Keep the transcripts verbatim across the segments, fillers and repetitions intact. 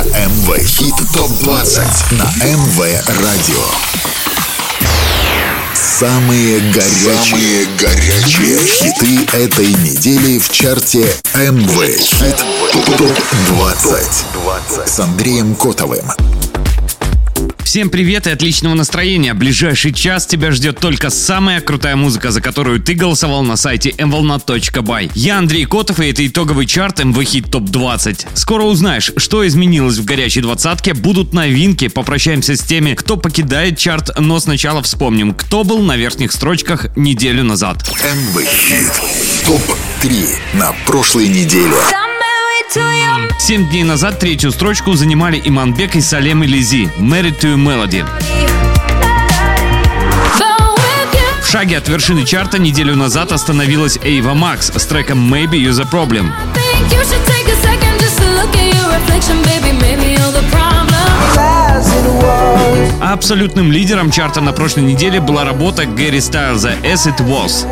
эм вэ Хит топ двадцать на эм вэ Радио. Самые горячие, Самые горячие хиты этой недели в чарте эм вэ Хит топ двадцать с Андреем Котовым. Всем привет и отличного настроения. Ближайший час тебя ждет только самая крутая музыка, за которую ты голосовал на сайте эм волна точка бай. Я Андрей Котов, и это итоговый чарт эм вэ Хит топ двадцать. Скоро узнаешь, что изменилось в горячей двадцатке, будут новинки, попрощаемся с теми, кто покидает чарт, но сначала вспомним, кто был на верхних строчках неделю назад. эм вэ Хит топ три на прошлой неделе. Семь дней назад третью строчку занимали Иманбек и Салем Элизи «Married to Melody». В шаге от вершины чарта неделю назад остановилась Эйва Макс с треком «Maybe You're the Problem». А абсолютным лидером чарта на прошлой неделе была работа Гэри Стайлза «As It Was».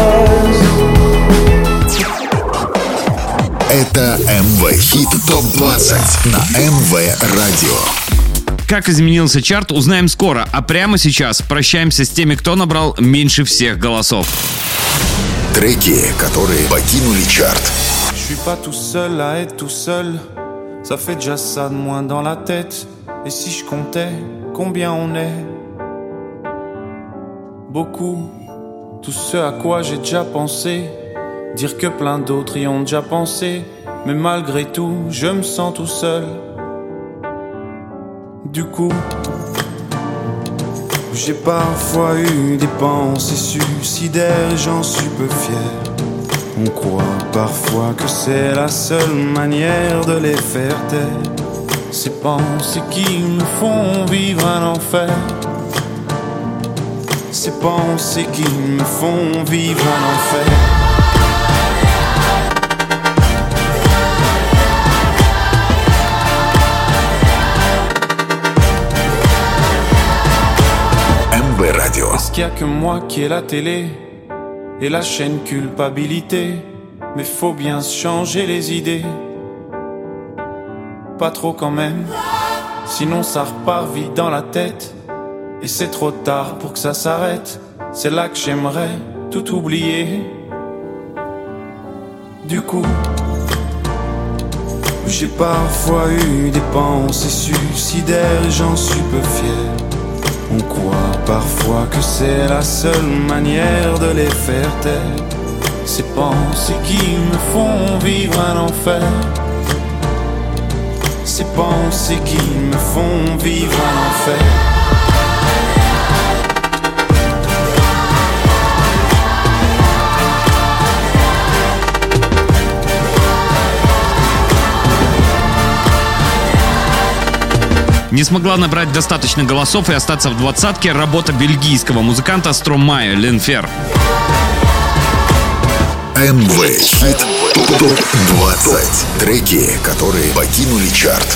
Это эм вэ Хит топ двадцать на эм вэ Радио. Как изменился чарт, узнаем скоро, а прямо сейчас прощаемся с теми, кто набрал меньше всех голосов. Треки, которые покинули чарт. Je suis pas tout seul à être tout seul. Ça fait déjà ça de moins dans la tête. Et si je comptais combien on est? Beaucoup. Tout ce à quoi j'ai déjà pensé. Dire que plein d'autres y ont déjà pensé. Mais malgré tout, je me sens tout seul. Du coup, j'ai parfois eu des pensées suicidaires et j'en suis peu fier. On croit parfois que c'est la seule manière de les faire taire. Ces pensées qui me font vivre un enfer. Ces pensées qui me font vivre un enfer. Est-ce qu'il y a que moi qui ai la télé et la chaîne culpabilité? Mais faut bien se changer les idées. Pas trop quand même, sinon ça repart vite dans la tête. Et c'est trop tard pour que ça s'arrête. C'est là que j'aimerais tout oublier. Du coup, j'ai parfois eu des pensées suicidaires et j'en suis peu fier. On croit parfois que c'est la seule manière de les faire taire. Ces pensées qui me font vivre un enfer. Ces pensées qui me font vivre un enfer. Не смогла набрать достаточно голосов и остаться в двадцатке работа бельгийского музыканта Стромае «Ленфер». эм вэ Хит топ двадцать. Треки, которые покинули чарт.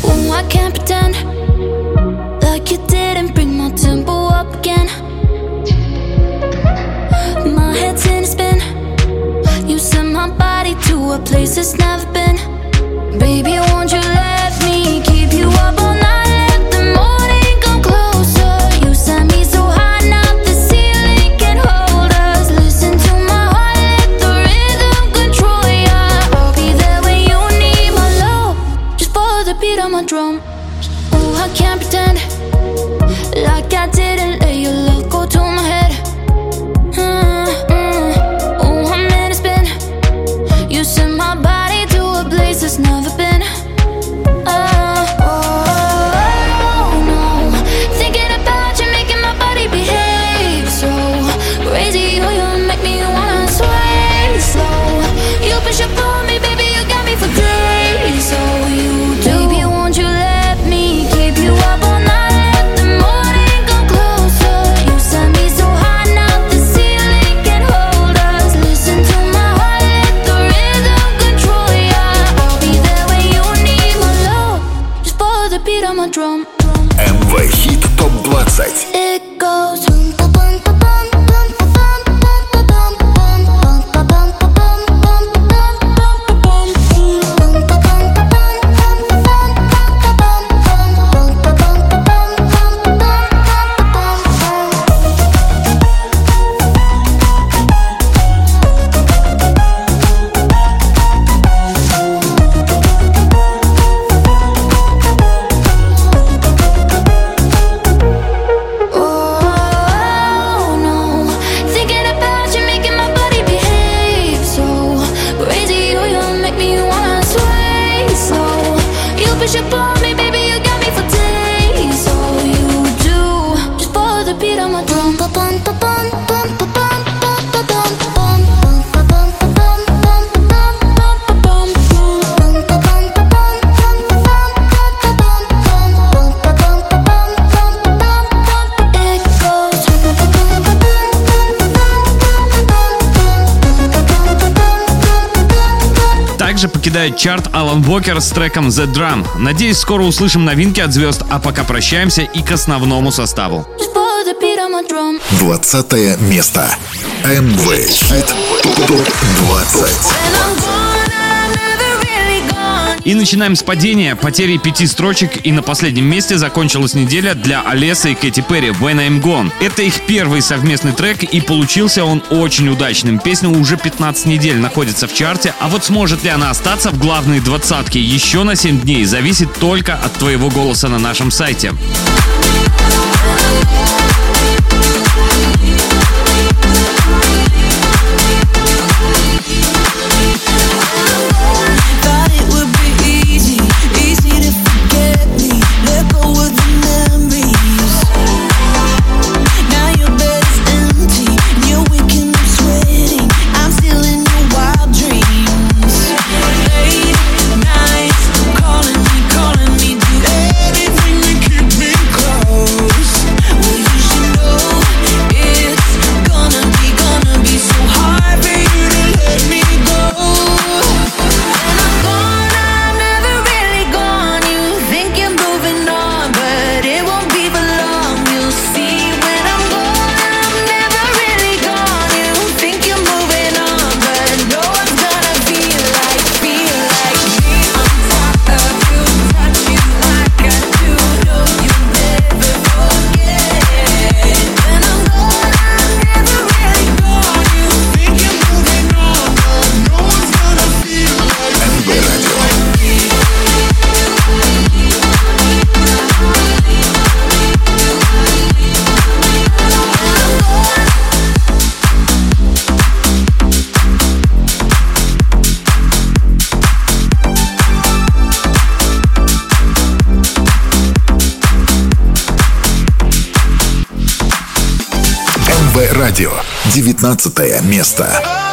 Drum. Oh, I can't pretend like I didn't let your love go to my head. Mm, mm. Oh, I'm in a spin. You sent my body to a place it's never been. Oh, oh, oh, no. Thinking about you making my body behave so crazy. Oh, you make me wanna sway slow. You push up on me, baby, you got me for days. So you do. Baby, won't you let me keep you up all night? Let the morning come close. покидает чарт Алан Уокер с треком The Drum. Надеюсь, скоро услышим новинки от звезд, а пока прощаемся и к основному составу. Двадцатое место. эм вэ Хит ТОП двадцать. И начинаем с падения, потери пяти строчек, и на последнем месте закончилась неделя для Алесы и Кэти Перри «When I'm Gone». Это их первый совместный трек, и получился он очень удачным. Песня уже пятнадцать недель находится в чарте, а вот сможет ли она остаться в главной двадцатке еще на семь дней, зависит только от твоего голоса на нашем сайте. Радио. девятнадцатое место.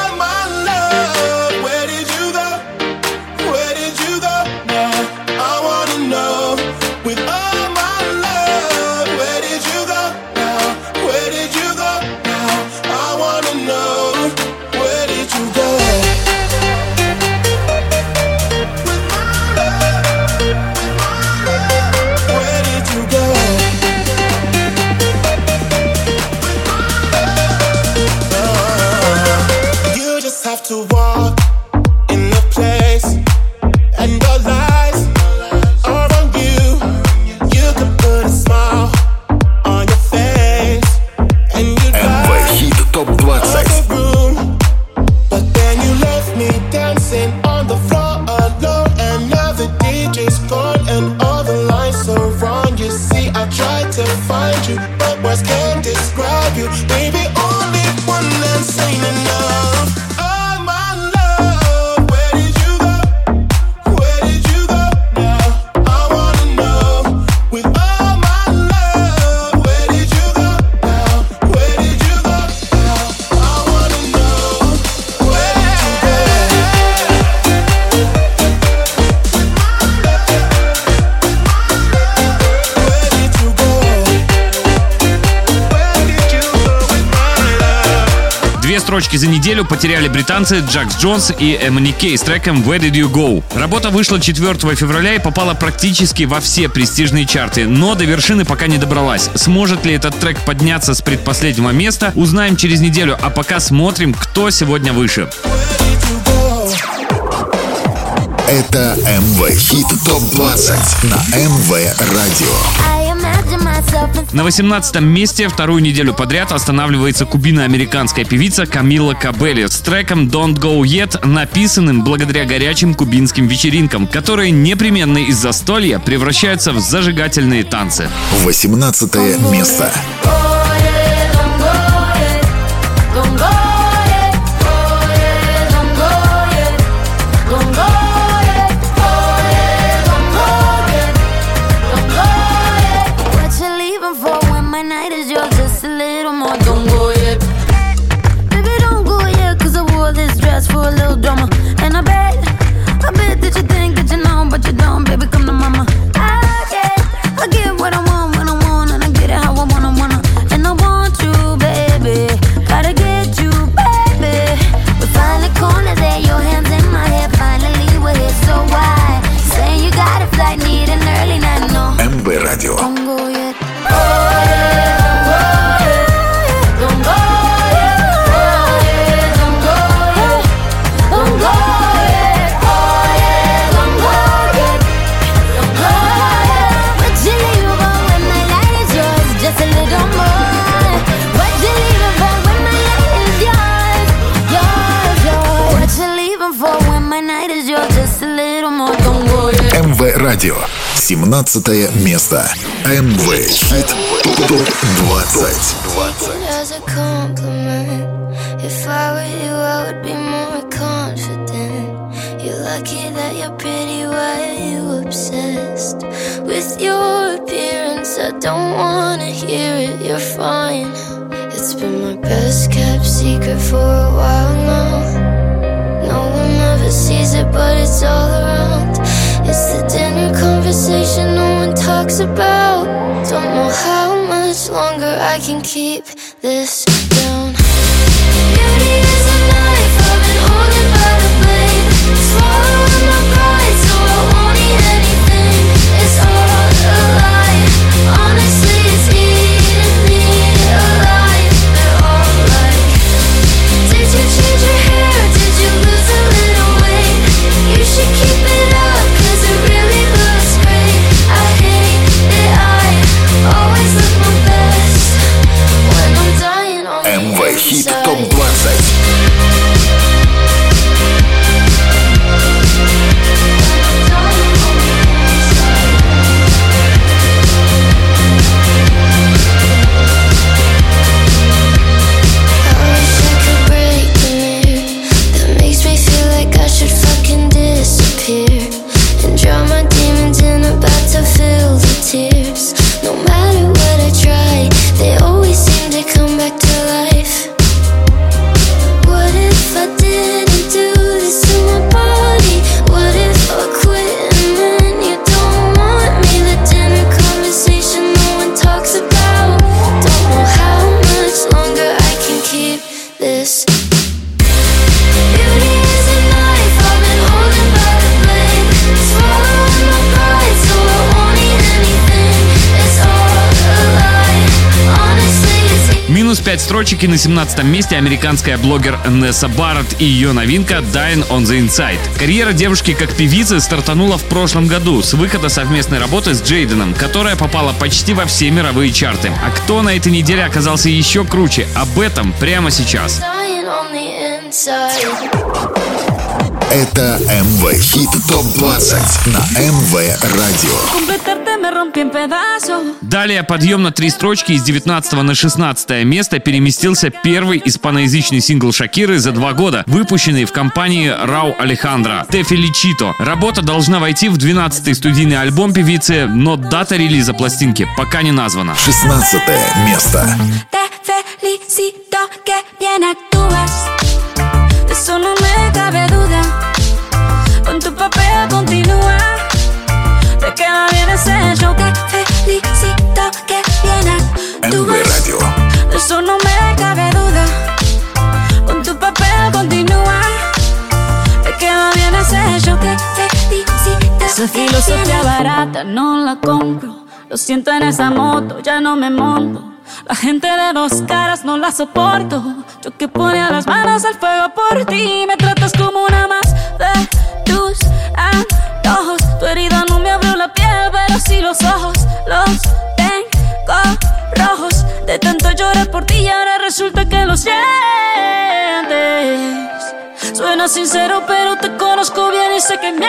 Строчки за неделю потеряли британцы Джакс Джонс и Эммани Кей с треком «Where Did You Go?». Работа вышла четвёртого февраля и попала практически во все престижные чарты, но до вершины пока не добралась. Сможет ли этот трек подняться с предпоследнего места, узнаем через неделю, а пока смотрим, кто сегодня выше. Это эм вэ Хит ТОП двадцать на эм вэ Радио. На восемнадцатом месте вторую неделю подряд останавливается кубино-американская певица Камила Кабелли с треком «Don't Go Yet», написанным благодаря горячим кубинским вечеринкам, которые непременно из застолья превращаются в зажигательные танцы. восемнадцатое место. What I want, when I want, and I get it how I wanna, wanna. эм вэ Радио. семнадцатое место. эм вэ Хит ТОП двадцать. If I were you, I would be more confident. You're lucky that you're pretty, why are you obsessed with your appearance? I don't wanna hear it, you're fine. It's been my best kept secret for a while now. No one ever sees it, but it's all around. It's the dinner conversation no one talks about. Don't know how much longer I can keep this down. Beauty is a knife, I've been holding by the blade. Swallowing my pride, so I won't eat anything. It's all a lie, honestly it's eating me alive. They're all like, did you change your hair, did you lose a little weight? You should keep it up, cause it really looks great. I hate that I always look my best when I'm dying on the эм вэ Хит inside. ТОП двадцать. Пять строчек, и на семнадцатом месте американская блогер Несса Барретт и ее новинка Dying on the Inside. Карьера девушки как певицы стартанула в прошлом году с выхода совместной работы с Джейденом, которая попала почти во все мировые чарты. А кто на этой неделе оказался еще круче? Об этом прямо сейчас. Это эм вэ Хит ТОП двадцать на эм вэ Радио. Далее подъем на три строчки из девятнадцатого на шестнадцатое место переместился первый испаноязычный сингл Шакиры за два года, выпущенный в компании Рау Алехандро «Te Felicito». Работа должна войти в двенадцатый студийный альбом певицы, но дата релиза пластинки пока не названа. шестнадцатое место. Queda bien ese show, te felicito, que bien actúas. Radio. De eso no me cabe duda. Con tu papel continúa. Te queda bien ese show, te felicito. Esa filosofía barata no la compro. Lo siento en esa moto, ya no me monto. La gente de dos caras no la soporto. Yo que ponía las manos al fuego por ti. Me tratas como una más de tus antojos. Tu herida no me abrió la piel, pero sí los ojos. Los tengo rojos. De tanto llorar por ti y ahora resulta que lo sientes. Suena sincero, pero te conozco bien y sé que mientes.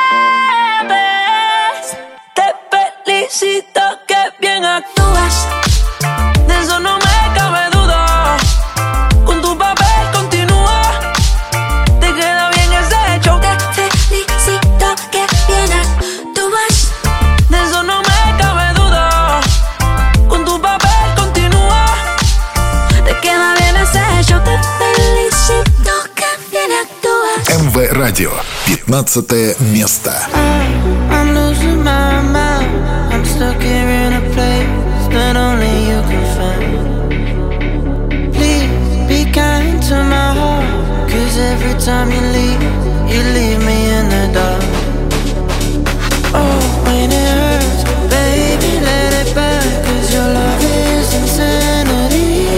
Te felicito, que bien actúas. De eso no me cabe duda. Con tu papel continúa. Te queda bien ese show. Te felicito, que bien actúas. De eso no me cabe duda. Con tu papel continúa. Te queda bien ese show. Te felicito, que bien actúas. эм вэ Радио. пятнадцатое место. I'm losing my mind. I'm stuck here in a place that only you can find. Please be kind to my heart, 'cause every time you leave, you leave me in the dark. Oh, when it hurts, baby, let it burn, 'cause your love is insanity.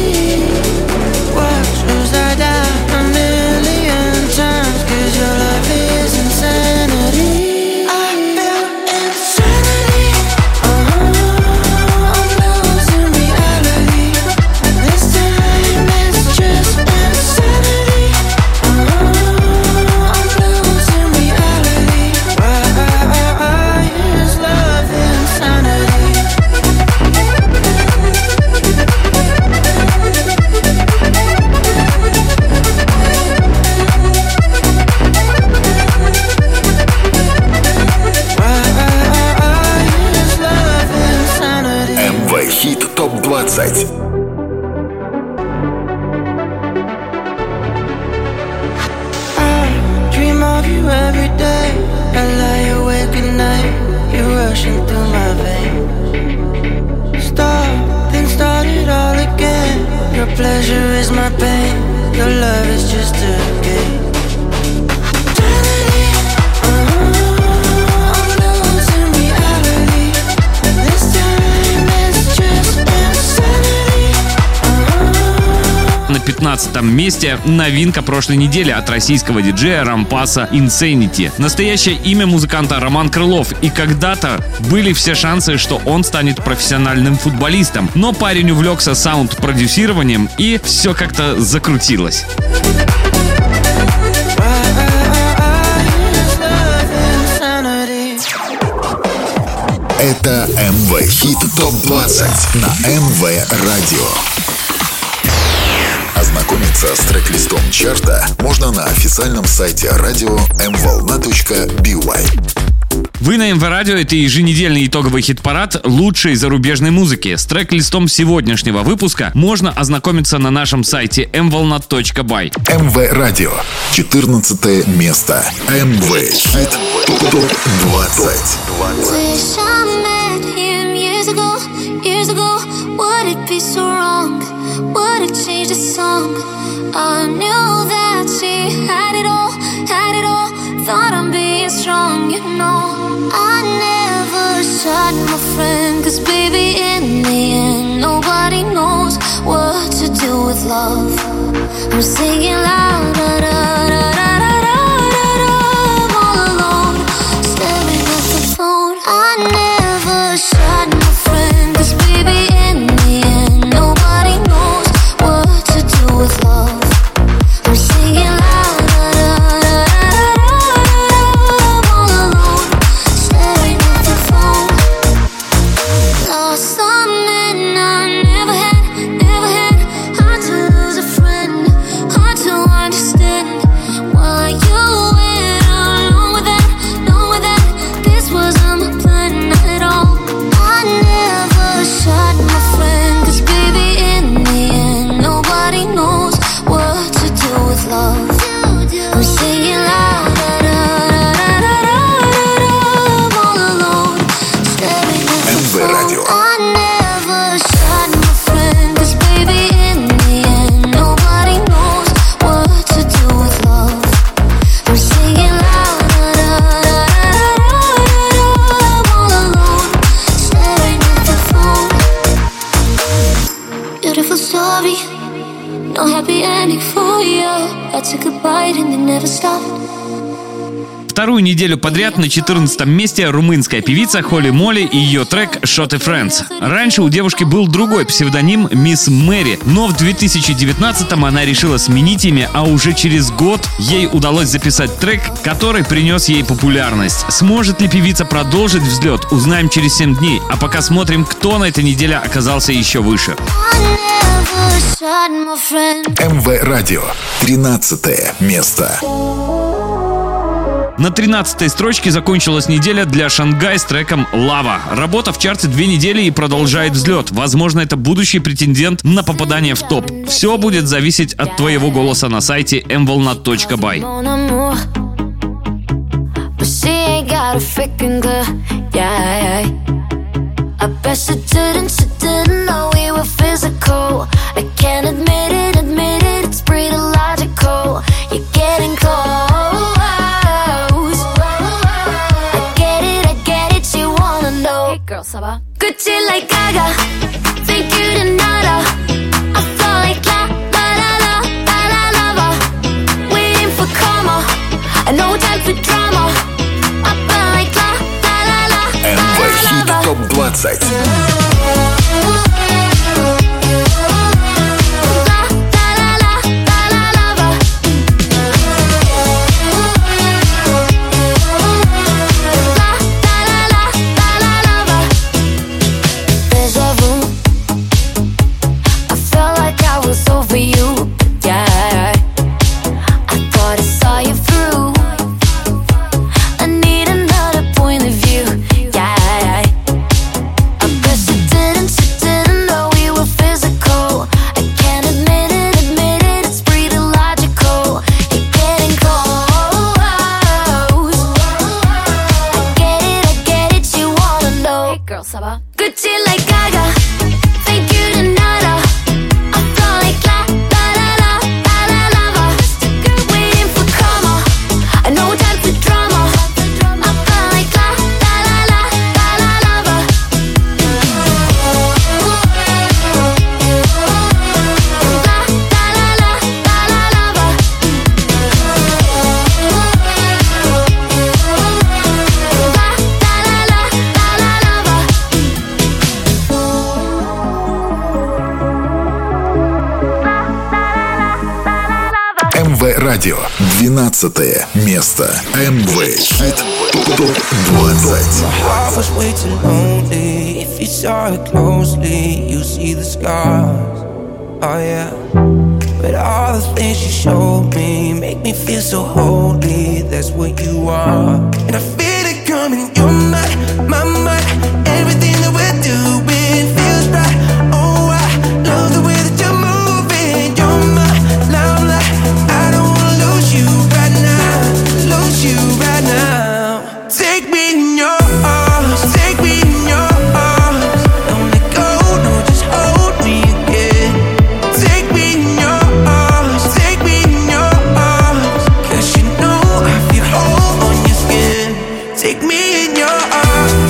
Watch as I die a million times, 'cause your love is insanity. I feel insanity. Uh-huh. I'm losing reality. This time it's just insanity. Uh-huh. I'm losing reality. rushing through my veins. Stop, then start it all again. Your pleasure is my pain. Your love is just a game. На пятнадцатом месте новинка прошлой недели от российского диджея Рампаса Insanity. Настоящее имя музыканта Роман Крылов, и когда-то были все шансы, что он станет профессиональным футболистом. Но парень увлекся саунд-продюсированием, и все как-то закрутилось. Это эм вэ Хит топ двадцать на эм вэ Радио. Ознакомиться с трек-листом чарта можно на официальном сайте радио эм волна точка би уай. Вы на эм вэ Радио, это еженедельный итоговый хит-парад лучшей зарубежной музыки. С трек-листом сегодняшнего выпуска можно ознакомиться на нашем сайте эм волна точка бай. эм вэ Радио, четырнадцатое место. эм вэ Хит топ двадцать. Would it change the song? I knew that she had it all, had it all. Thought I'm being strong, you know. I never shot my friend, cause baby in the end nobody knows what to do with love. I'm singing loud, da da da da da da da. I'm all alone, staring at the phone. I never shot my friend, cause baby in the end nobody knows what to do with love. I'm singing loud, da da da da da. I'm all alone, staring at the phone. Lost something I never had, never had. Hard to lose a friend, hard to understand why you went along with that, along with that. This wasn't my plan at all. I never shot my friend, cause baby in the end nobody knows what to do with love. I'm singing loud, da da da da da da. I'm all alone, staring at the эм вэ Радио. phone. I never shot my friend, cause baby in the end nobody knows what to do with love. I'm singing loud, da da da da da. I'm all alone, staring at the phone. Beautiful story, no happy ending for you. I took a bite and then never stopped. Вторую неделю подряд на четырнадцатом месте румынская певица Холли Молли и ее трек «Shot и Friends». Раньше у девушки был другой псевдоним «Мисс Мэри», но в две тысячи девятнадцатом она решила сменить имя, а уже через год ей удалось записать трек, который принес ей популярность. Сможет ли певица продолжить взлет, узнаем через семь дней, а пока смотрим, кто на этой неделе оказался еще выше. эм вэ Радио, тринадцатое место. На тринадцатой строчке закончилась неделя для Шангай с треком «Лава». Работа в чарте две недели и продолжает взлет. Возможно, это будущий претендент на попадание в топ. Все будет зависеть от твоего голоса на сайте эм волна точка бай. Gucci like Gaga, thank you to nada. I feel like la la la la la la lava, waiting for karma, no time for drama. I feel like la la la la эм вэ Хит топ двадцать. I need another point of view, yeah. girl, ça va? Gucci like Gaga, take you to nada. I feel like la la la la la la lava. Waiting for karma, no time for drama. I feel like la la la la la la lava. La la la la la la lava. эм вэ Радио. двенадцатое место. эм вэ Хит топ двадцать. I was way too lonely. If you saw it closely, you see the scars. Oh yeah. But all the things you showed me make me feel so holy. That's what you are. And I feel it coming. You're my, my, my. Everything that we're doing feels right. Oh, I love the way that you're moving. You're my limelight. I don't wanna lose you right now. Lose you right now. Take me in your arms. Take me in your arms. Don't let go. No, just hold me again. Take me in your arms. Take me in your arms. 'Cause you know I feel whole on your skin. Take me in your arms.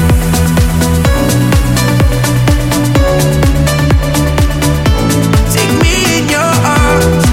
Take me in your arms.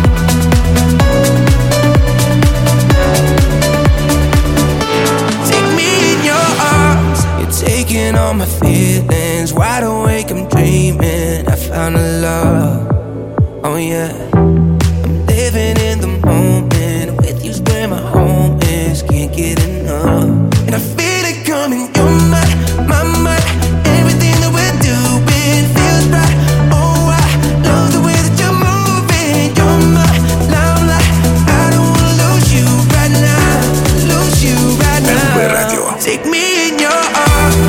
Take me in your arms. You're taking all my feelings. Wide awake, I'm dreaming. I found a love. Oh yeah. I'm living in the moment. With you's where my home is. Can't get enough. And I feel it coming. You're my, my, my. Everything that we're doing feels right. Oh, I love the way that you're moving. You're my limelight. I don't wanna lose you right now. Lose you right эм вэ now. Радио. Take me in your arms.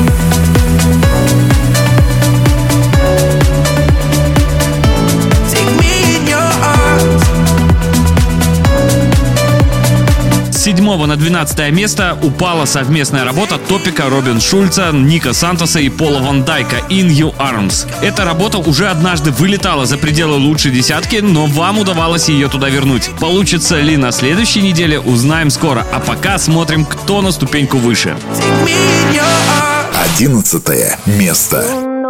Take me in your arms. С седьмого на двенадцатое место упала совместная работа Топика, Робин Шульца, Ника Сантоса и Пола Ван Дайка «In Your Arms». Эта работа уже однажды вылетала за пределы лучшей десятки, но вам удавалось ее туда вернуть. Получится ли на следующей неделе, узнаем скоро. А пока смотрим, кто на ступеньку выше. Take me in your arms. Одиннадцатое место.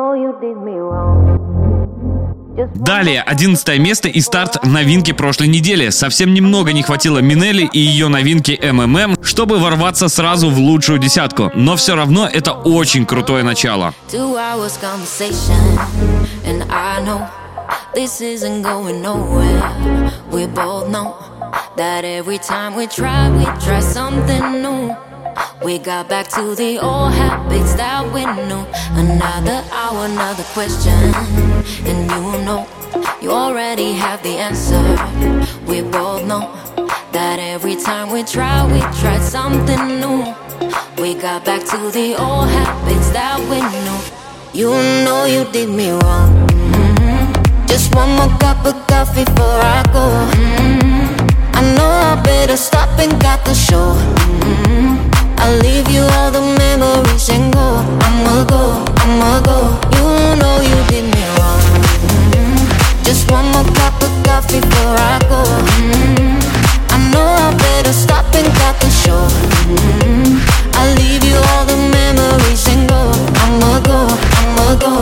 Далее, одиннадцатое место и старт новинки прошлой недели. Совсем немного не хватило Минелли и ее новинки эм эм эм, чтобы ворваться сразу в лучшую десятку. Но все равно это очень крутое начало. Two hours conversation, and I know this isn't going nowhere. We both know that every time we try, we try something new. We got back to the old habits that we knew. Another hour, another question, and you know you already have the answer. We both know that every time we try, we try something new. We got back to the old habits that we knew. You know you did me wrong. Mm-hmm. Just one more cup of coffee before I go. Mm-hmm. I know I better stop and got the show. Mm-hmm. I'll leave you all the memories and go. I'ma go, I'ma go. You know you did me wrong. Mm-hmm. Just one more cup of coffee before I go. Mm-hmm. I know I better stop and got the show. Mm-hmm. I'll leave you all the memories and go. I'ma go, I'ma go.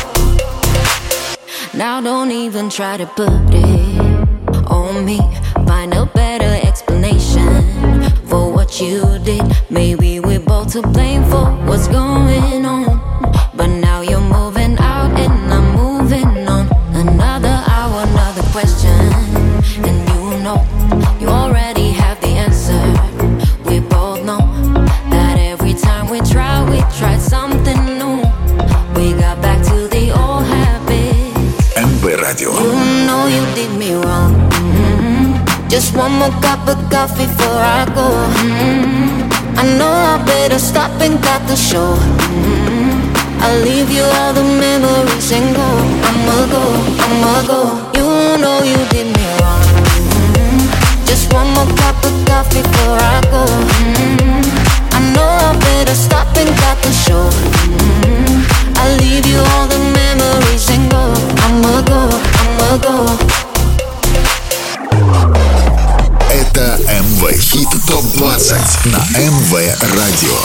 Now don't even try to put it on me. Find a better explanation for what you did. Maybe we're both to blame for what's going on. But now you're moving out and I'm moving on. Another hour, another question, and you know you already have the answer. We both know that every time we try, we try something new. We got back to the old habits. эм вэ Радио. You know you did me wrong. Mm-hmm. Just one more cup of coffee before I go. Mm-hmm. I know I better stop and got the show. Mm-hmm. I'll leave you all the memories and go. I'ma go, I'ma go. You know you did me wrong. Mm-hmm. Just one more cup of coffee before I go. Mm-hmm. I know I better stop and got the show. на эм вэ Радио.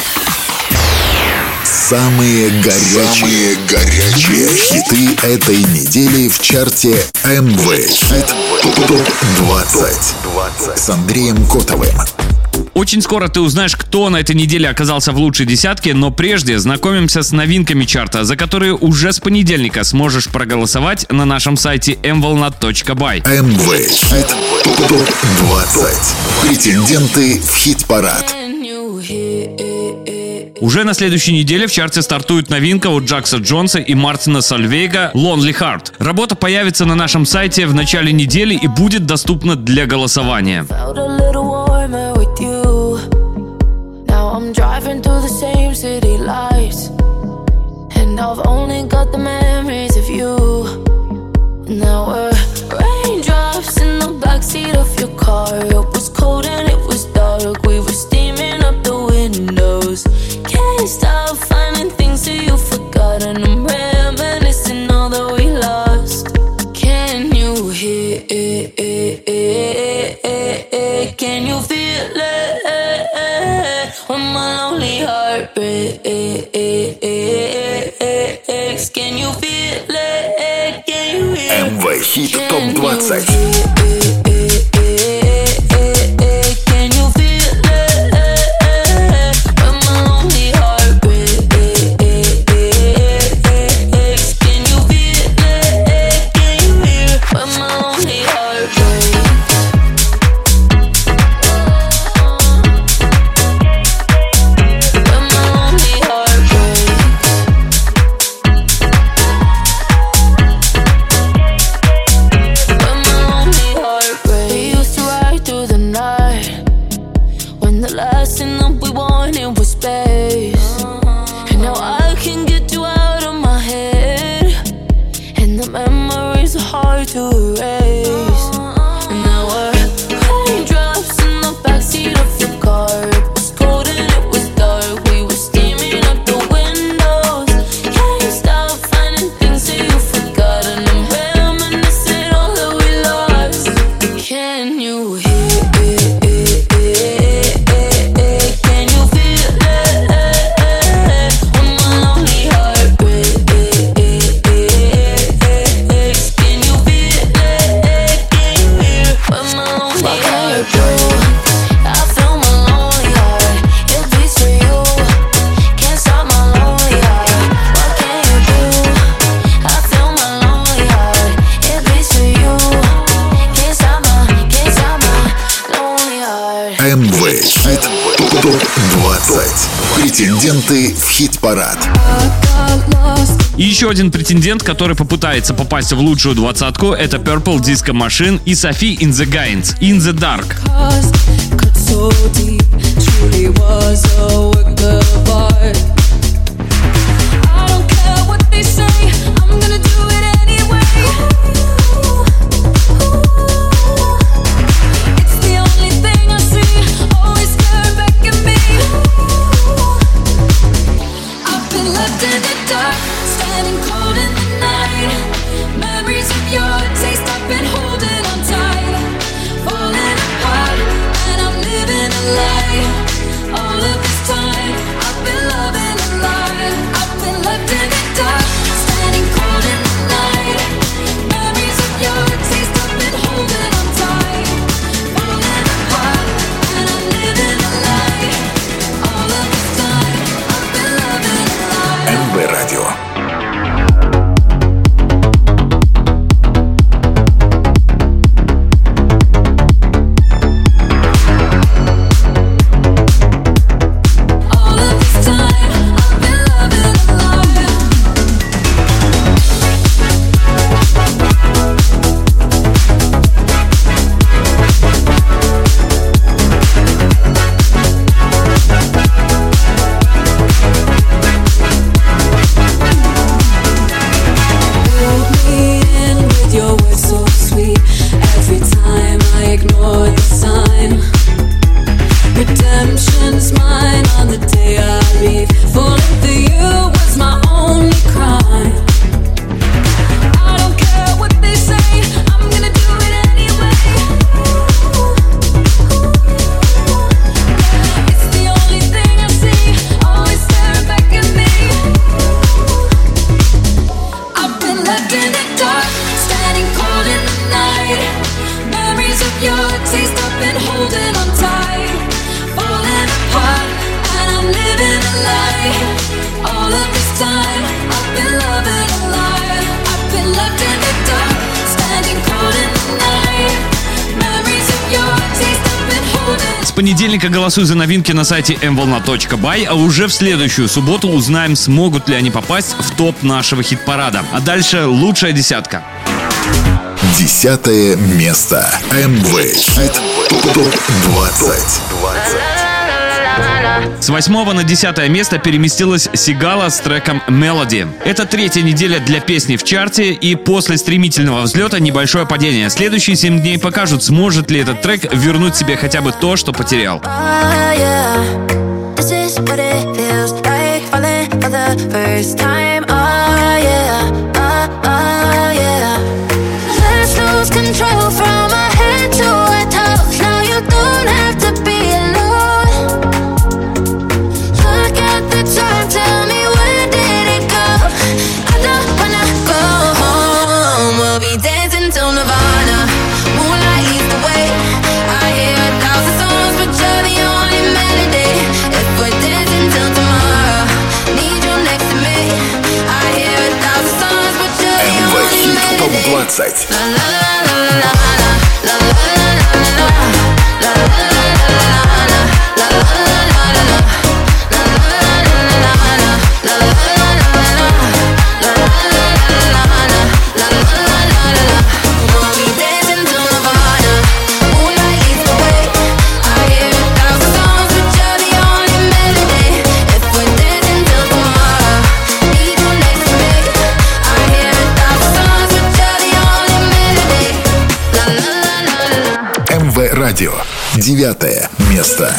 Самые горячие, Самые горячие хиты этой недели в чарте эм вэ Хит топ двадцать с Андреем Котовым. Очень скоро ты узнаешь, кто на этой неделе оказался в лучшей десятке, но прежде знакомимся с новинками чарта, за которые уже с понедельника сможешь проголосовать на нашем сайте эм волна точка бай. эм вэ Хит топ двадцать. Претенденты в хит-парад. Уже на следующей неделе в чарте стартует новинка от Джакса Джонса и Мартина Сольвейга «Lonely Heart». Работа появится на нашем сайте в начале недели и будет доступна для голосования. I'm driving through the same city lights, and I've only got the memories of you. And there were raindrops in the backseat of your car. It was cold and it was dark. We were steaming up the windows. Can't stop finding things that you forgot, and I'm reminiscing all that we lost. Can you hear it? Can you feel it? When my lonely heart breaks, can you feel it? Can you hear it? эм вэ Хит топ двадцать. эм вэ Хит топ двадцать. Претенденты в хит-парад. И еще один претендент, который попытается попасть в лучшую двадцатку, это Purple Disco Machine и Sophie in the Gaines «In the Dark». All of this time понедельника голосуй за новинки на сайте эм волна точка бай, а уже в следующую субботу узнаем, смогут ли они попасть в топ нашего хит-парада. А дальше лучшая десятка. Десятое место. эм вэ Хит топ двадцать. С восьмого на десятое место переместилась Сигала с треком «Melody». Это третья неделя для песни в чарте, и после стремительного взлета небольшое падение. Следующие семь дней покажут, сможет ли этот трек вернуть себе хотя бы то, что потерял. двадцать. Радио. Девятое место.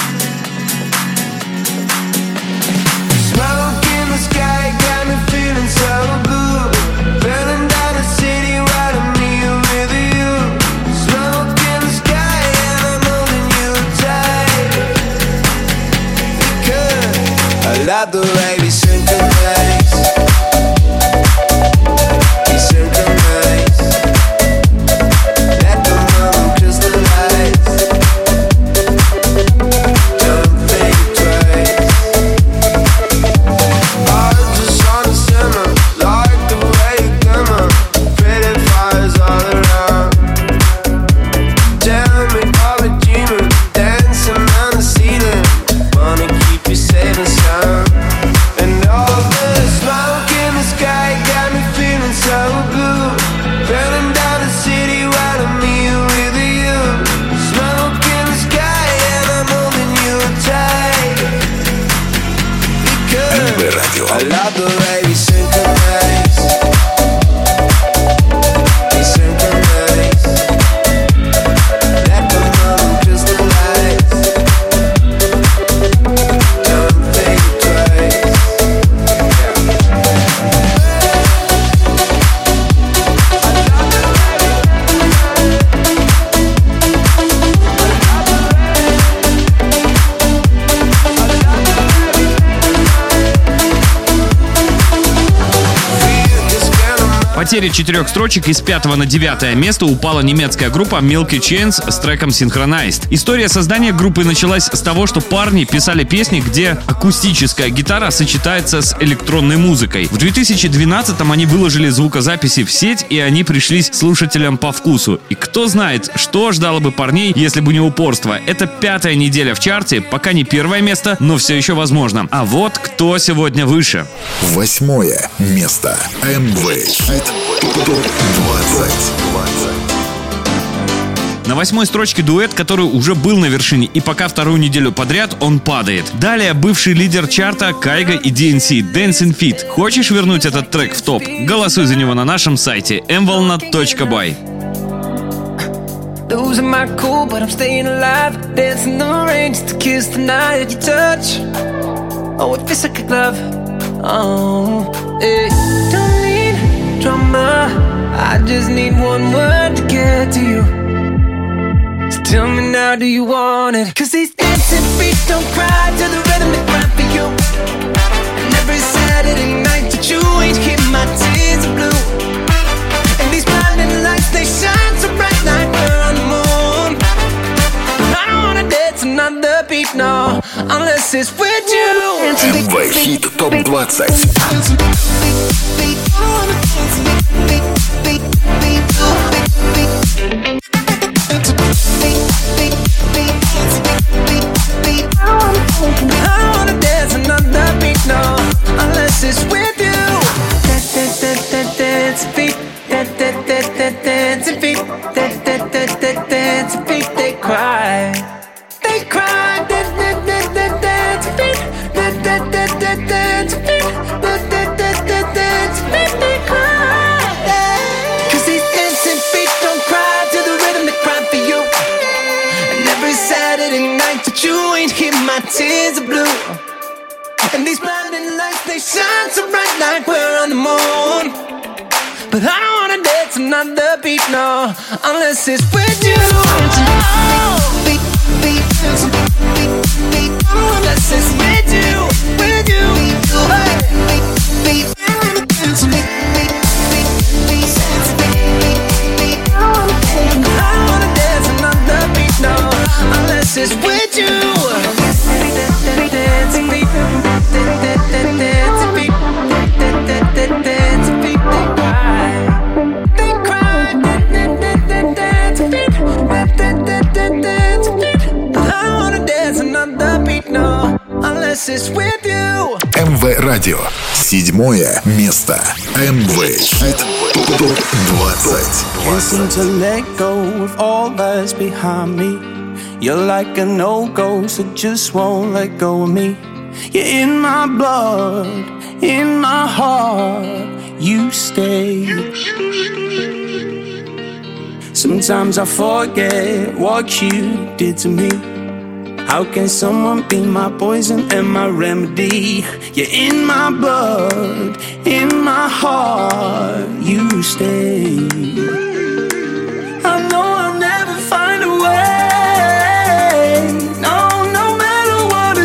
Потеря четырех строчек из пятого на девятое место упала немецкая группа Milky Chance с треком Synchronized. История создания группы началась с того, что парни писали песни, где акустическая гитара сочетается с электронной музыкой. В две тысячи двенадцатом они выложили звукозаписи в сеть, и они пришлись слушателям по вкусу. И кто знает, что ждало бы парней, если бы не упорство. Это пятая неделя в чарте, пока не первое место, но все еще возможно. А вот кто сегодня выше. Восьмое место. эм вэ Хит топ двадцать. На восьмой строчке дуэт, который уже был на вершине, и пока вторую неделю подряд он падает. Далее бывший лидер чарта Кайга и ди эн си Dancing Feet. Хочешь вернуть этот трек в топ? Голосуй за него на нашем сайте эм волна точка бай. Losing my cool, but I'm staying alive. Dancing in the rain just to kiss the night you touch. Oh, it feels like a glove. Oh, yeah. Don't need drama. I just need one word to get to you. So tell me now, do you want it? Cause these dancing feet don't cry to the rhythm they cry for you. And every Saturday night that you ain't keep my tears are blue. And these blinding lights, they shine so bright like we're on the moon. I don't wanna dance another beat, no, unless it's with you. эм вэ Хит топ двадцать. Beat, beat, beat, beat, beat, beat, beat, beat, beat, beat, beat, beat, beat, beat, beat, beat, beat, shades of blue. And these blinding lights, they shine so bright like we're on the moon. But I don't wanna dance another beat, no, unless it's with you. Beat, beat, beat, beat, unless it's with you, with you. Hey. Beat, beat, beat, beat, beat, beat. I don't wanna dance another beat, no, unless it's with you. Dance beat, dance beat, dance beat, they cry, they cry, dance beat, dance beat. I don't wanna dance another beat, no, unless it's with you. эм вэ Радио. Седьмое место. эм вэ Хит топ двадцать. Can't seem to let go of all that's behind me. You're like a no-go, so just won't let go of me. You're in my blood, in my heart, you stay. Sometimes I forget what you did to me. How can someone be my poison and my remedy? You're in my blood, in my heart, you stay. I know I'll never find a way. No, no matter what I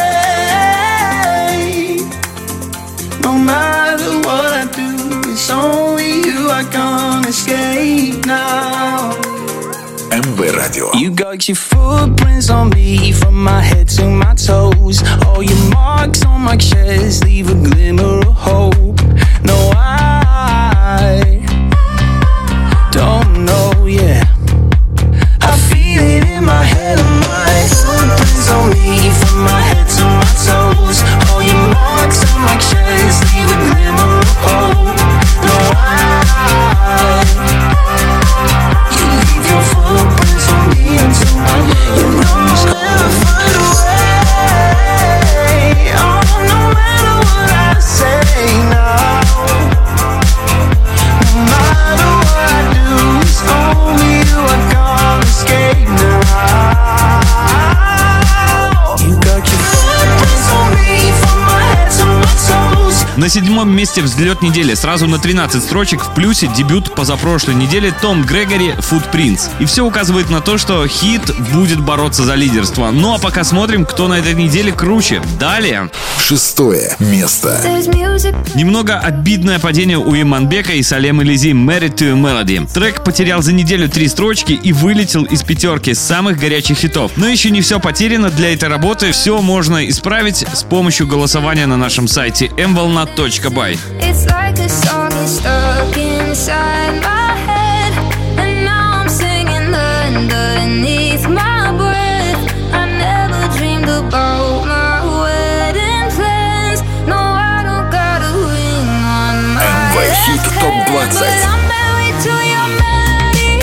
say, no matter what I do, it's only you I can't escape now. эм вэ Радио. You got your footprints on me from my head to my toes. All your marks on my chest leave a glimmer of hope. No, I don't know, yeah. I feel it in my head and my footprints on me from my head to my toes. All your marks on my chest leave a glimmer of hope. No, I you leave your footprints on me until I you know I'll never find a way. Oh, no matter what I say now, no matter what I do, it's only you I can't escape now. You got your footprints on me from my head to my toes. На седьмом месте взлет недели. Сразу на тринадцать строчек в плюсе дебют позапрошлой недели Том Грегори «Footprints». И все указывает на то, что хит будет бороться за лидерство. Ну а пока смотрим, кто на этой неделе круче. Далее. Шестое место. Немного обидное падение у Иманбека и Салем Элизи «Married to a Melody». Трек потерял за неделю три строчки и вылетел из пятерки самых горячих хитов. Но еще не все потеряно. Для этой работы все можно исправить с помощью голосования на нашем сайте эм волна точка бай. It's like a song is stuck inside my head, and now I'm singing underneath my breath. I never dreamed about my wedding plans. No, I don't got a ring on my эм вэ Хит топ двадцать. but I'm married to your melody.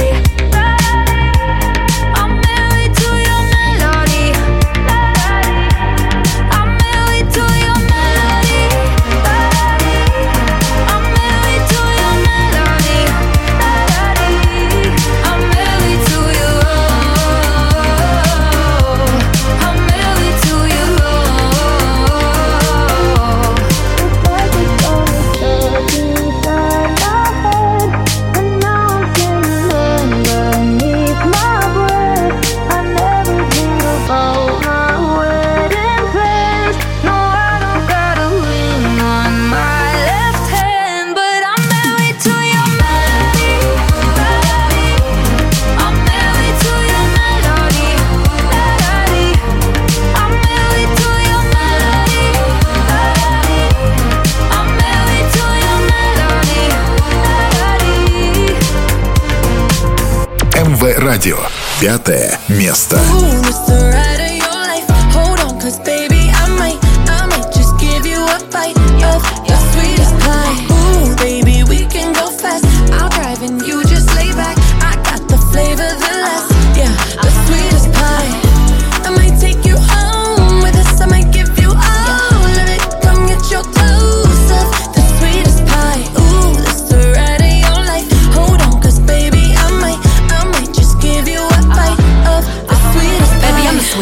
I'm married to your melody. I'm married to your melody. I'm married to your melody. I'm married to you. I'm married to you. эм вэ Радио. Пятое место. Ooh, it's the ride of your life. Hold on, cause baby, I might, I might just give you a bite of your sweetest pie. Ooh, baby, we can go fast. I'll drive and you just lay back. I got the flavor, the last, yeah, the sweetest pie. I might take you home with us. I might give you all of it. Come get your dose of the sweetest pie. Ooh, it's the ride of your life. Hold on, cause baby, I might, I might just give you a bite of the sweetest pie. Baby, I'm the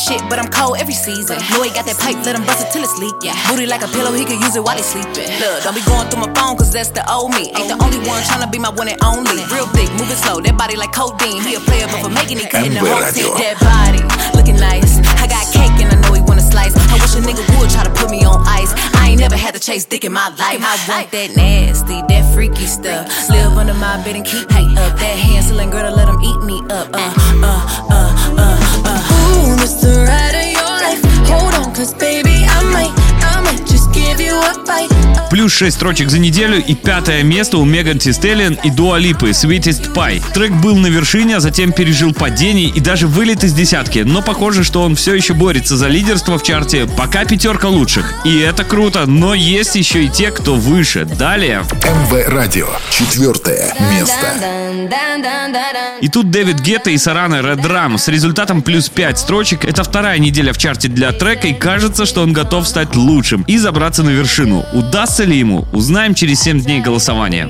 shit, but I'm cold every season. Know he got that pipe, let him bust it till it's leak. Yeah. Booty like a pillow, he could use it while he sleeping. Look, don't be going through my phone, cause that's the old me. Ain't the only one tryna be my one and only. Real thick, moving slow, that body like codeine. He a player, but for making it, cutting the whole team. That body, looking nice. I got cake and I know he wanna slice. I wish a nigga would try to put me on ice. I ain't never had to chase dick in my life. I want that nasty, that freaky stuff. Live under my bed and keep me up. That hand-selling girl to let him eat me up. Uh, uh, uh, uh, uh. Ooh, this the ride of your life. Hold on, cause baby, I might, I might just give you a bite. Плюс шесть строчек за неделю и пятое место у Меган Ти Стеллион и Дуа Липы «Sweetest Pie». Трек был на вершине, а затем пережил падение и даже вылет из десятки, но похоже, что он все еще борется за лидерство в чарте, пока пятерка лучших. И это круто, но есть еще и те, кто выше. Далее. МВ Радио. Четвертое место. И тут Дэвид Гетта и Сарана Red Rum с результатом плюс пять строчек. Это вторая неделя в чарте для трека, и кажется, что он готов стать лучшим и забраться на вершину. Удастся ли ему? Узнаем через семь дней голосования.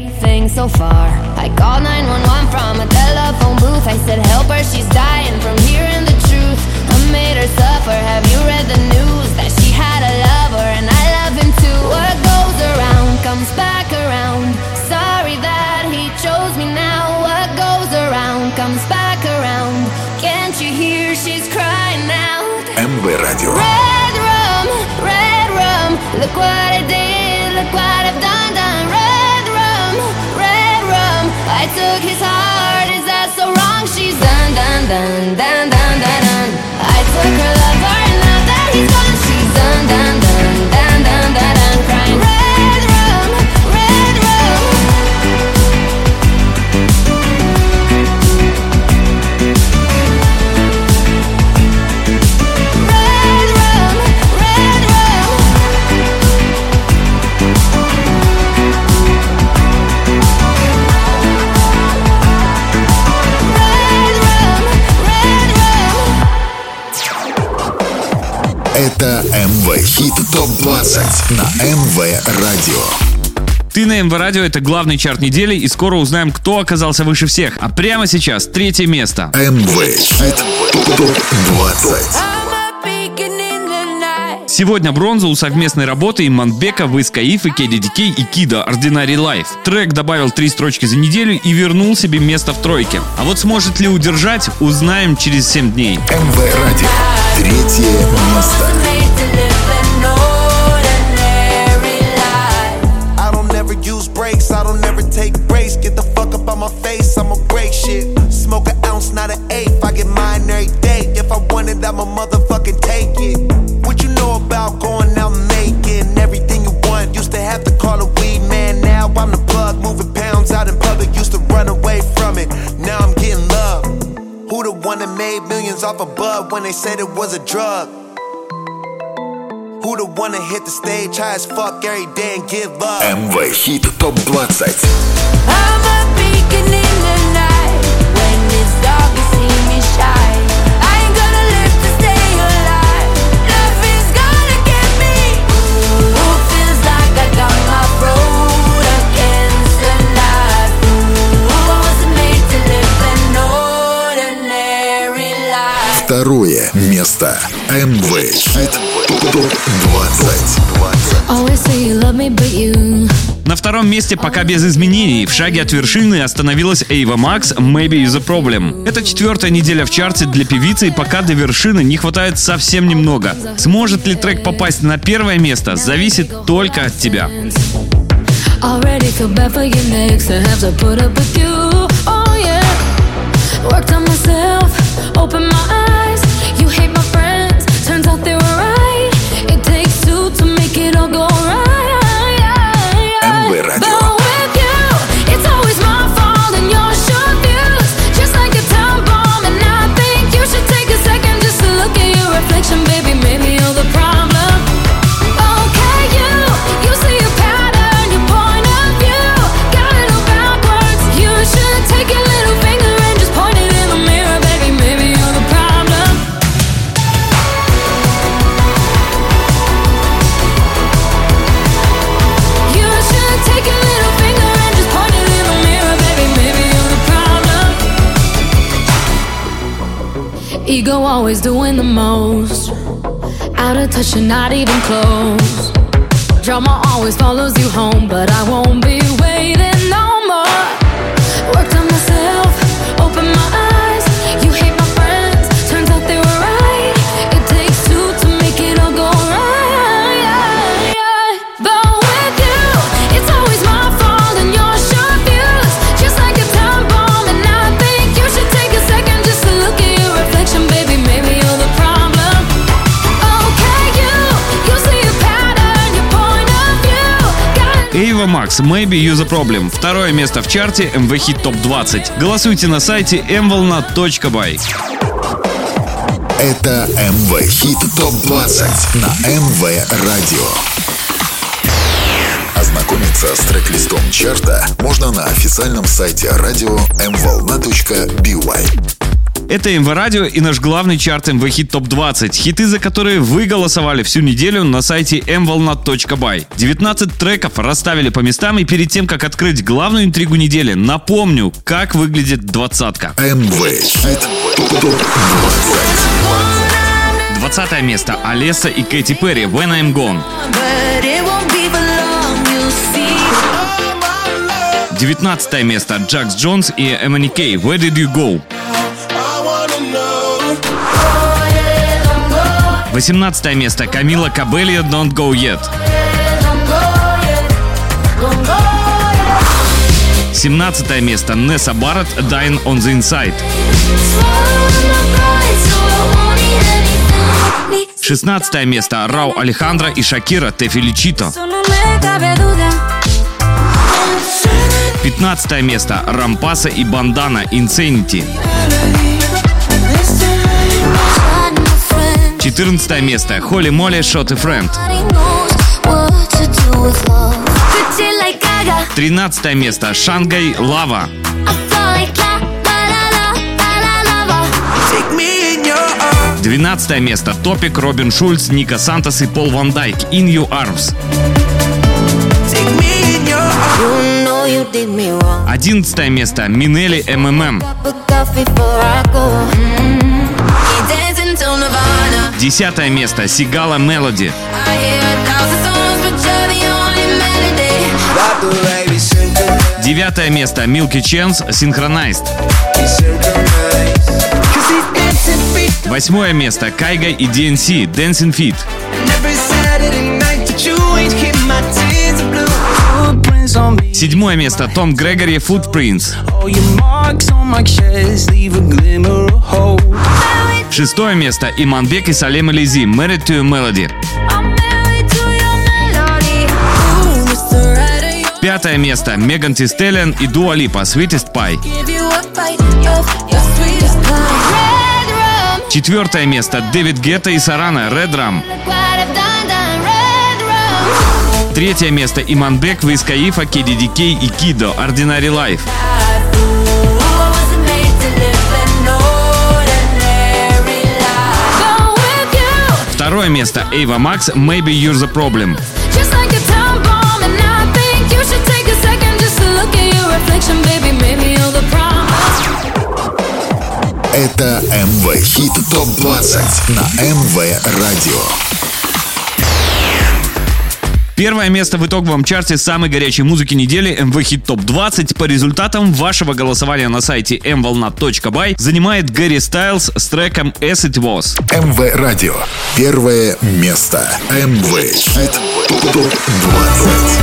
МВ Радио. Red rum, red rum, look what I did, look what I've done, done. Red rum, red rum, I took his heart, is that so wrong? She's done, done, done, done, done, done, done. I took her lover and now that he's gone, she's done, done, done, done, done, done, done. Crying red rum, red rum. Это МВ Хит топ двадцать на МВ Радио. Ты на МВ Радио — это главный чарт недели, и скоро узнаем, кто оказался выше всех. А прямо сейчас третье место. МВ Хит топ двадцать. Сегодня бронза у совместной работы Иманбека, Wiz Khalifa, Кеди ди кей и Кида «Ordinary Life». Трек добавил три строчки за неделю и вернул себе место в тройке. А вот сможет ли удержать, узнаем через семь дней. МВ Радио. Третье место. About going out and making everything you want. Used to have to call a weed man. Now I'm the plug, moving pounds out in public. Used to run away from it. Now I'm getting love. Who the one that made millions off a bud when they said it was a drug? Who the one that hit the stage high as fuck every day and give up? МВ Хит топ двадцать. I'm a beacon in the night. When it's dark, you see me shine. I ain't gonna live to stay alive. Love is gonna get me. Ooh, feels like I got my road against the night. Ooh, I wasn't made to live an ordinary life. Второе место. МВ Хит топ двадцать. На втором месте пока без изменений. В шаге от вершины остановилась Ava Max «Maybe You're the Problem». Это четвертая неделя в чарте для певицы, и пока до вершины не хватает совсем немного. Сможет ли трек попасть на первое место, зависит только от тебя. МВ Радио. Take your little finger and just point it in the mirror, baby. Maybe you're the problem. always doing the most. Out of touch and not even close. Drama always follows you home, but I won't be waiting no more. Worked on myself, open my eyes. You hate my friends, turns out they were right. It takes two to make it all go right. But with you, it's always my fault and your short views. Just like a time bomb, and I think you should take a second just to look at your reflection, baby. Maybe you're the problem. Okay, you, you see a pattern, your point of view. Ava Max, Maybe You The Problem. Второе место в чарте эм ви Hit топ двадцать. Голосуйте на сайте эм волна точка бай. Это эм ви Hit топ двадцать на эм ви Радио. Ознакомиться с трек-листом чарта можно на официальном сайте радио эм волна точка бай. Это эм ви Радио и наш главный чарт эм ви Hit топ двадцать. Хиты, за которые вы голосовали всю неделю на сайте эм волна точка бай. девятнадцать треков расставили по местам, и перед тем, как открыть главную интригу недели, напомню, как выглядит двадцатка. эм ви Hit топ двадцать. двадцатое место. Алесса и Кэти Перри, When I'm Gone. девятнадцатое место. Джакс Джонс и Эмани Кей, Where Did You Go? восемнадцатое место. Камила Кабельо, Don't Go Yet. семнадцатое место. Несса Барретт, Dying on the Inside. шестнадцатое место. Рау Алехандро и Шакира, Те Феличито. пятнадцатое место. Рампаса и Бандана, Insanity. четырнадцатое место. Холли Молли, Shot a Friend. тринадцатое место. Шангай, Лава. двенадцатое место. Топик, Робин Шульц, Ника Сантос и Пол Ван Дайк, In Your Arms. одиннадцатое место. Минели, эм эм эм. десятое место. Сигала, Мелоди. девятое место. Milky Chance, Synchronized. восьмое место. Кайга и ди эн си, Dancing Feet. седьмое место. Том Грегори, Footprints. шестое место. Иманбек и Салем Ализи, Married to a Melody. Пятое место. Меган Ти Стеллион и Дуа Липа, Sweetest Pie. Четвертое место. Дэвид Гетта и Сарана, Red Rum. Третье место. Иманбек, Виз Каифа, Кеди Ди Кей и Кидо, Ordinary Life. Второе место. Ava Max, Maybe You're the Problem. Это эм ви Hit топ двадцать на эм ви Радио. Первое место в итоговом чарте самой горячей музыки недели эм ви Hit топ двадцать по результатам вашего голосования на сайте эм волна точка бай занимает Гэри Стайлз с треком As It Was. эм ви Радио. Первое место. эм ви Hit топ двадцать.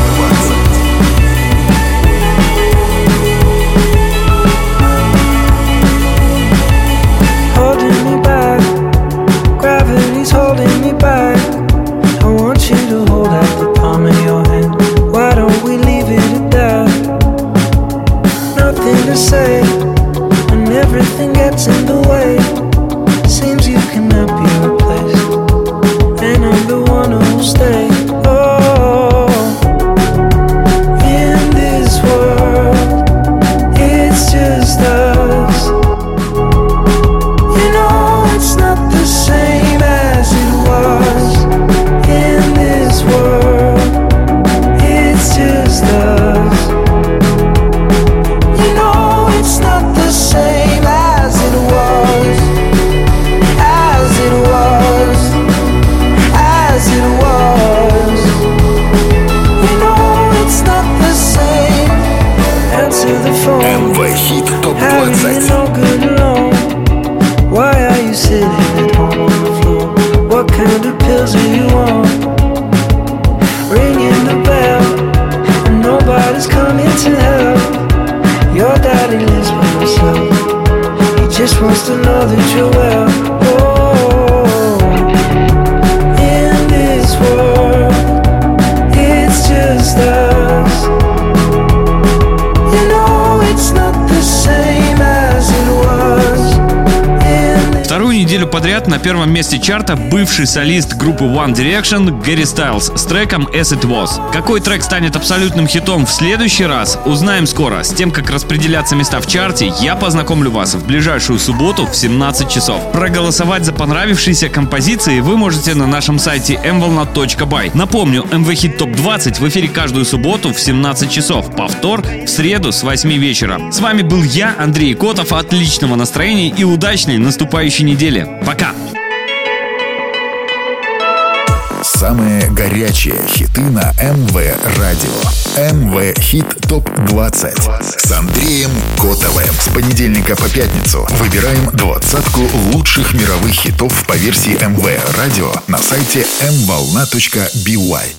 Holding me back. I want you to hold out the palm of your hand. Why don't we leave it at that? Nothing to say, and everything gets in the way. Seems you cannot be replaced, and I'm the one who'll stay. Oh, feels who you want. Ringing the bell, and nobody's coming to help. Your daddy lives by himself. He just wants to know that you're well. Oh, in this world, it's just us. You know it's not the same as it was. Вторую неделю подряд на первом месте чарта бывший солист группы One Direction Гэри Стайлз с треком As It Was. Какой трек станет абсолютным хитом в следующий раз, узнаем скоро. С тем, как распределяться места в чарте, я познакомлю вас в ближайшую субботу в семнадцать часов. Проголосовать за понравившиеся композиции вы можете на нашем сайте эм волна точка бай. Напомню, эм ви Hit топ двадцать в эфире каждую субботу в семнадцать часов. Повтор в среду с восьми вечера. С вами был я, Андрей Котов. Отличного настроения и удачной наступающей недели. Пока! Самые горячие хиты на эм вэ Радио. эм вэ Hit топ двадцать с Андреем Котовым. С понедельника по пятницу выбираем двадцатку лучших мировых хитов по версии эм вэ Радио на сайте эм волна точка би уай.